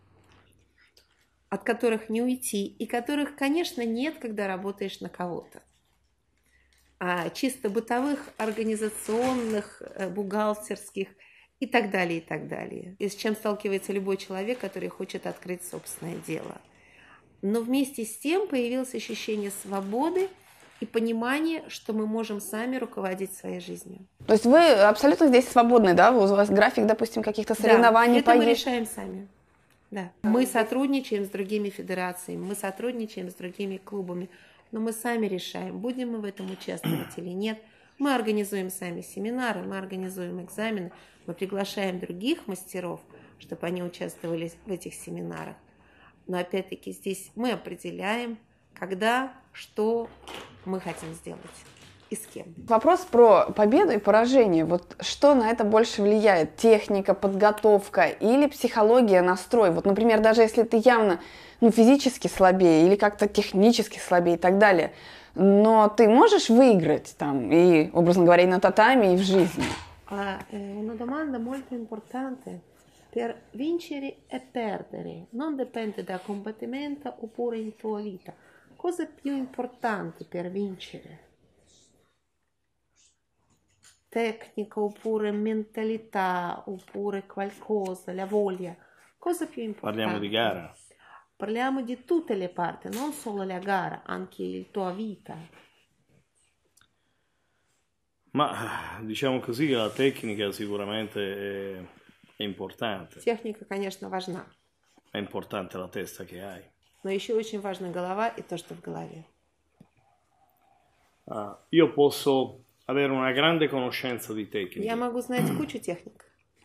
C: от которых не уйти, и которых, конечно, нет, когда работаешь на кого-то. А чисто бытовых, организационных, бухгалтерских и так далее, и так далее. И с чем сталкивается любой человек, который хочет открыть собственное дело. Но вместе с тем появилось ощущение свободы и понимание, что мы можем сами руководить своей жизнью.
A: То есть вы абсолютно здесь свободны, да? У вас график, допустим, каких-то соревнований,
C: да, это мы решаем сами. Да. Мы сотрудничаем с другими федерациями, мы сотрудничаем с другими клубами, но мы сами решаем, будем мы в этом участвовать или нет. Мы организуем сами семинары, мы организуем экзамены, мы приглашаем других мастеров, чтобы они участвовали в этих семинарах. Но опять-таки здесь мы определяем, когда, что мы хотим сделать и с кем.
A: Вопрос про победу и поражение. Вот что на это больше влияет? Техника, подготовка или психология, настрой? Вот, например, даже если ты явно физически слабее или как-то технически слабее и так далее, но ты можешь выиграть там и, образно говоря, и на татами, и в жизни?
C: Una domanda molto importante. Per vincere e perdere non dipende da combattimento oppure in tua vita. Cosa è più importante per vincere? Tecnica oppure mentalità oppure qualcosa, la voglia. Cosa più importante?
B: Parliamo di gara.
C: Parliamo di tutte le parti, non solo la gara, anche la tua vita.
B: Ma diciamo così che la tecnica sicuramente è importante.
C: Техника, конечно, важна.
B: È importante la testa che hai.
C: Но еще очень важна голова и то, что в голове.
B: Io posso avere una grande conoscenza di tecnica.
C: Я могу знать кучу техник.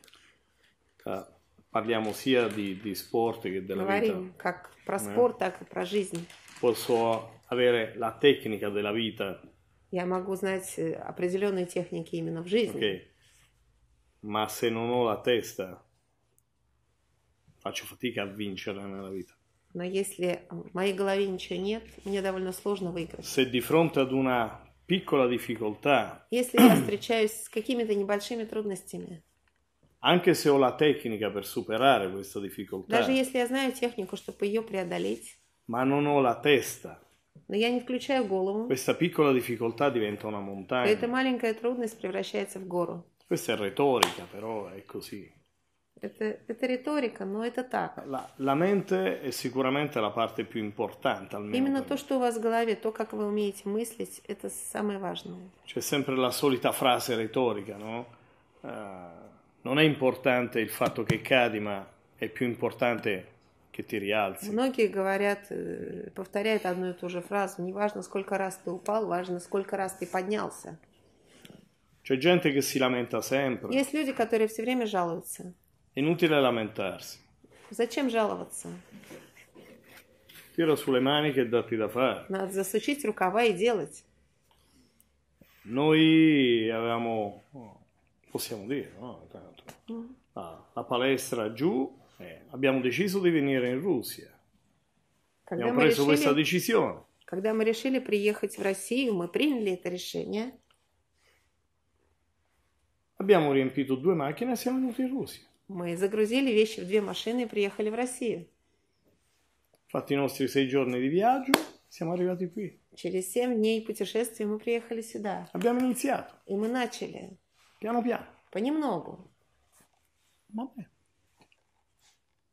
B: Parliamo sia di sport che della
C: Говорим
B: vita.
C: как про спорт, так и про жизнь.
B: Posso avere la tecnica della vita.
C: Я могу знать определенные техники именно в жизни.
B: Okay. Ma se non ho la testa, faccio fatica a vincere nella vita.
C: Но если в моей голове ничего нет, мне довольно сложно выиграть.
B: Se di fronte ad una piccola difficoltà,
C: Если я встречаюсь с какими-то небольшими трудностями,
B: anche se ho la tecnica per superare questa difficoltà,
C: даже если я знаю технику, чтобы ее преодолеть,
B: ma non ho la testa,
C: но я не включаю голову,
B: questa piccola difficoltà diventa una
C: то
B: montagna.
C: эта маленькая трудность превращается в гору.
B: Questa è retorica, però è così.
C: Это риторика, но это так.
B: La mente è sicuramente la parte più importante, almeno
C: Именно
B: per
C: то,
B: me.
C: что у вас в голове, то, как вы умеете мыслить, это самое важное.
B: C'è sempre la solita frase retorica, no? Non è importante il fatto che cadi, ma è più importante che ti rialzi.
C: Многие говорят, повторяют одну и ту же фразу. Не важно, сколько раз ты упал, важно, сколько раз ты поднялся.
B: C'è gente che si lamenta sempre.
C: Есть люди, которые все время жалуются.
B: Inutile lamentarsi.
C: Зачем жаловаться?
B: Tira sulle maniche e datti da fare.
C: Надо засучить рукава и делать.
B: Noi avevamo, possiamo dire, no? La palestra giù, abbiamo deciso di venire in Russia. Abbiamo preso questa decisione.
C: Когда мы решили приехать в Россию, мы приняли это решение.
B: Abbiamo riempito 2 macchine e siamo venuti in Russia.
C: Мы загрузили вещи в 2 машины и приехали в Россию.
B: Fatti i nostri 6 giorni di viaggio, siamo arrivati qui.
C: Через 7 дней путешествия мы приехали сюда.
B: Abbiamo iniziato,
C: И мы начали.
B: piano piano.
C: Понемногу.
B: Vabbè.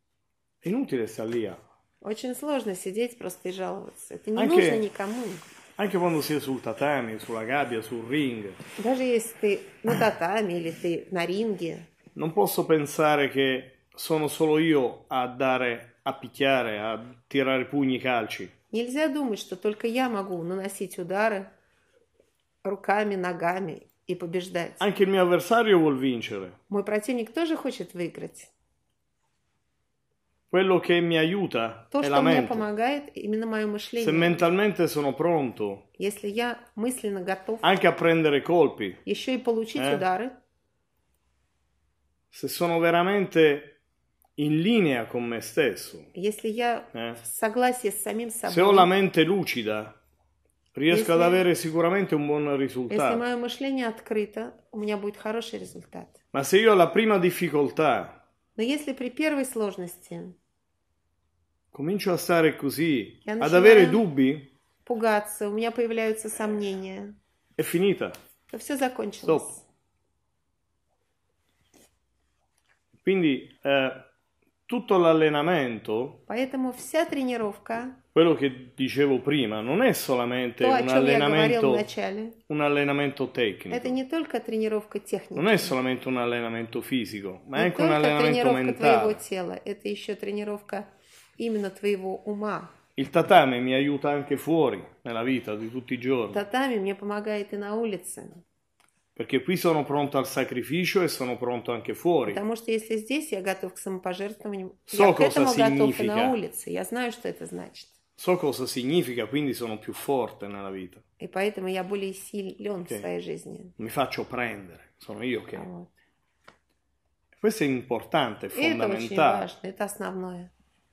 B: È inutile stare lì
C: Очень сложно сидеть просто и жаловаться. Это не
B: Anche-
C: нужно никому.
B: Anche quando sei sul tatami, sulla gabbia, sul ring,
C: Даже если ты на татами или ты на ринге,
B: non posso pensare che sono solo io a dare, a picchiare, a tirare pugni e calci.
C: нельзя думать, что только я могу наносить удары руками, ногами и побеждать.
B: Anche il mio avversario vuol vincere.
C: Мой противник тоже хочет выиграть.
B: Quello che mi aiuta
C: То,
B: è
C: что
B: la
C: мне
B: mente.
C: помогает, именно мое
B: Se
C: мышление.
B: mentalmente sono pronto
C: Если я мысленно готов
B: anche a prendere colpi,
C: еще и получить удары,
B: se sono veramente in linea con me stesso,
C: если я в согласии с самим
B: se ho
C: собой,
B: la mente lucida, riesco ad
C: Если-
B: avere sicuramente un buon
C: если
B: risultato.
C: мое мышление открыто, у меня будет хороший результат.
B: Ma se io ho la prima difficoltà
C: Но если при первой сложности
B: comincio a stare così,
C: Я
B: ad
C: начинаю-
B: avere dubbi,
C: пугаться, у меня появляются сомнения,
B: è finita.
C: то все закончилось.
B: Стоп. Quindi tutto l'allenamento,
C: Поэтому вся тренировка,
B: quello che dicevo prima, non è solamente
C: то, о чем я говорил в
B: un
C: начале,
B: allenamento
C: это
B: tecnico,
C: не только тренировка техники,
B: non è solamente un allenamento fisico, ma è
C: не
B: anche un
C: только
B: allenamento
C: тренировка твоего
B: mentale.
C: тела, это еще тренировка именно твоего ума.
B: Il tatame mi aiuta anche fuori, nella vita di tutti i giorni,
C: Татами мне помогает и на улице,
B: perché qui sono pronto al sacrificio e sono pronto anche fuori.
C: потому что если здесь я готов к самопожертвованию,
B: So
C: я к этому
B: cosa
C: готов и на
B: significa.
C: улице, я знаю, что это значит.
B: So cosa significa, quindi sono più forte nella vita.
C: И поэтому я более силен в
B: Ok.
C: своей жизни.
B: Mi faccio prendere, sono io che...
C: Вот.
B: Questo è importante, è
C: И это очень
B: fondamentale.
C: важно, это основное.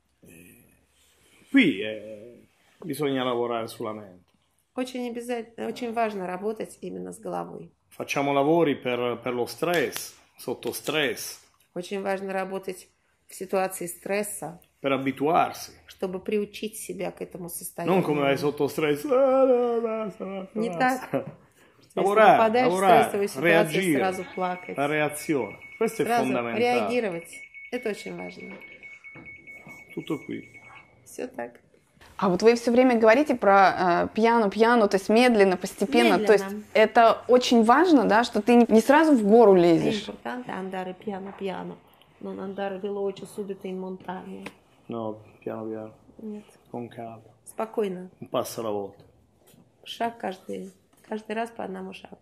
B: Qui bisogna lavorare sulla mente.
C: Очень обязательно, очень важно работать именно с головой.
B: Facciamo lavori per lo stress, sotto stress,
C: Очень важно работать в ситуации стресса,
B: per abituarsi.
C: чтобы приучить себя к этому
B: Non
C: состоянию.
B: come vai sotto stress. Basta.
C: Не так. Если
B: Lavorare,
C: попадаешь в стрессовую
B: lavorare,
C: ситуацию,
B: reagire.
C: сразу плакать,
B: La reazione. Questo è
C: сразу
B: fondamentale.
C: реагировать. Это очень важно.
B: Tutto qui.
C: Все так.
A: А вот вы все время говорите про пьяно, то есть медленно, постепенно. То есть
C: Медленно.
A: это очень важно, да, что ты не сразу в гору
C: È
A: лезешь.
C: importante andare piano piano, non andare veloce subito in montagna.
B: No, piano piano,
C: Нет.
B: con calma.
C: Спокойно.
B: Un passo alla volta.
C: Шаг каждый раз по одному шагу.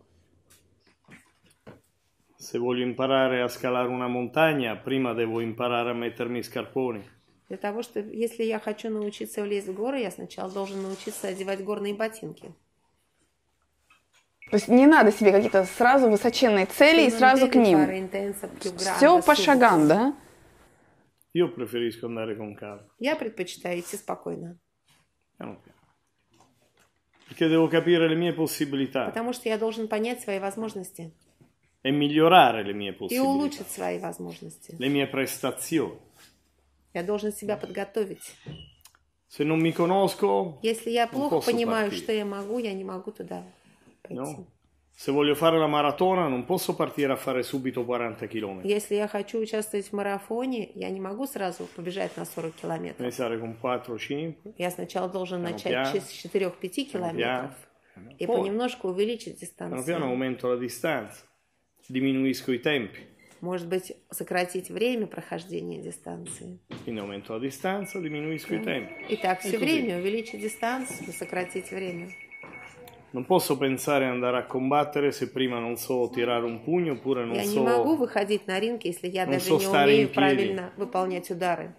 B: Se voglio imparare a scalare una montagna, prima devo imparare a mettermi i scarponi.
C: Для того, что если я хочу научиться влезть в горы, я сначала должен научиться одевать горные ботинки.
A: То есть не надо себе какие-то сразу высоченные цели и сразу к ним. Все по шагам, да?
B: Io preferisco andare con calma.
C: Я предпочитаю идти спокойно,
B: Piano piano. Perché devo capire le mie possibilità
C: потому что я должен понять свои возможности
B: e migliorare le mie
C: и
B: possibilità,
C: улучшить свои возможности.
B: le mie prestazioni.
C: Я должен себя подготовить.
B: Se non mi conosco,
C: Если я
B: non
C: плохо
B: posso
C: понимаю,
B: partire.
C: что я не могу туда пойти.
B: No? Se voglio fare la maratona, non posso partire a fare subito 40 km.
C: Если я хочу участвовать в марафоне, я не могу сразу побежать на 40 километров.
B: Iniziare con 4-5,
C: Я сначала должен
B: Piano
C: начать
B: piano.
C: с 4-5 километров и
B: Poi,
C: понемножку увеличить
B: piano piano
C: дистанцию.
B: aumento la distanza, diminuisco i tempi,
C: Может быть, сократить время прохождения дистанции.
B: quindi aumento la distanza, diminuisco i tempi.
C: И так все
B: così.
C: время увеличить дистанцию, сократить время.
B: Non posso pensare ad andare a combattere se prima non so tirare un pugno oppure non
C: Я не могу
B: so...
C: выходить на ринг, если я
B: non
C: даже
B: so
C: не
B: stare
C: умею
B: in piedi.
C: правильно выполнять удары.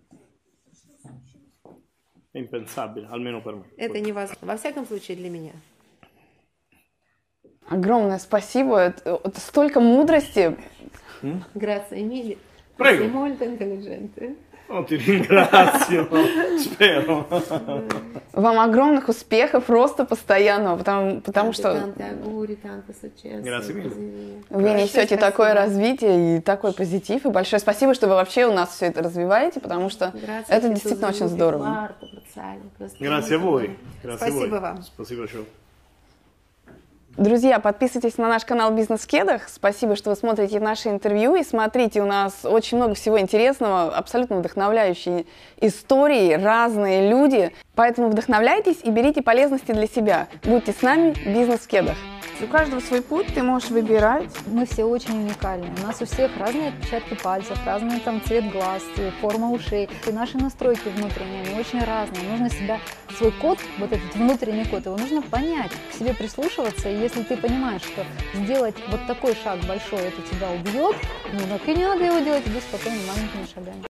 B: È impensabile, almeno per me.
C: Это невозможно. Во всяком случае, для меня.
A: Огромное спасибо. Это столько мудрости.
C: Grazie mille.
B: Prego.
C: Sei molto intelligente.
B: Oh, ti ringrazio, spero.
A: Вам огромных успехов, роста постоянного, потому что
C: Tanti auguri, tanto successo.
B: Grazie mille.
C: Così via.
A: вы
C: Большое
A: несете такое
C: спасибо.
A: развитие и такой позитив. И большое спасибо, что вы вообще у нас все это развиваете, потому что
C: Grazie
A: это
C: che tu
A: действительно очень
C: sviluppi
A: здорово.
C: l'arte, Brazzaglio, questo è
B: Grazie a
C: molto
B: voi.
C: bello.
B: Grazie a
C: Спасибо
B: voi.
C: вам.
B: Спасибо, ciao.
A: Друзья, подписывайтесь на наш канал «Бизнес в кедах». Спасибо, что вы смотрите наши интервью. И смотрите, у нас очень много всего интересного, абсолютно вдохновляющие истории, разные люди. Поэтому вдохновляйтесь и берите полезности для себя. Будьте с нами, «Бизнес в кедах». У каждого свой путь, ты можешь выбирать.
D: Мы все очень уникальны. У нас у всех разные отпечатки пальцев, разный там цвет глаз, форма ушей. И наши настройки внутренние, они очень разные. Нужно себя, свой код, вот этот внутренний код, его нужно понять, к себе прислушиваться. И если ты понимаешь, что сделать вот такой шаг большой, это тебя убьет, ну так и не надо его делать, иди спокойно маленькими шагами.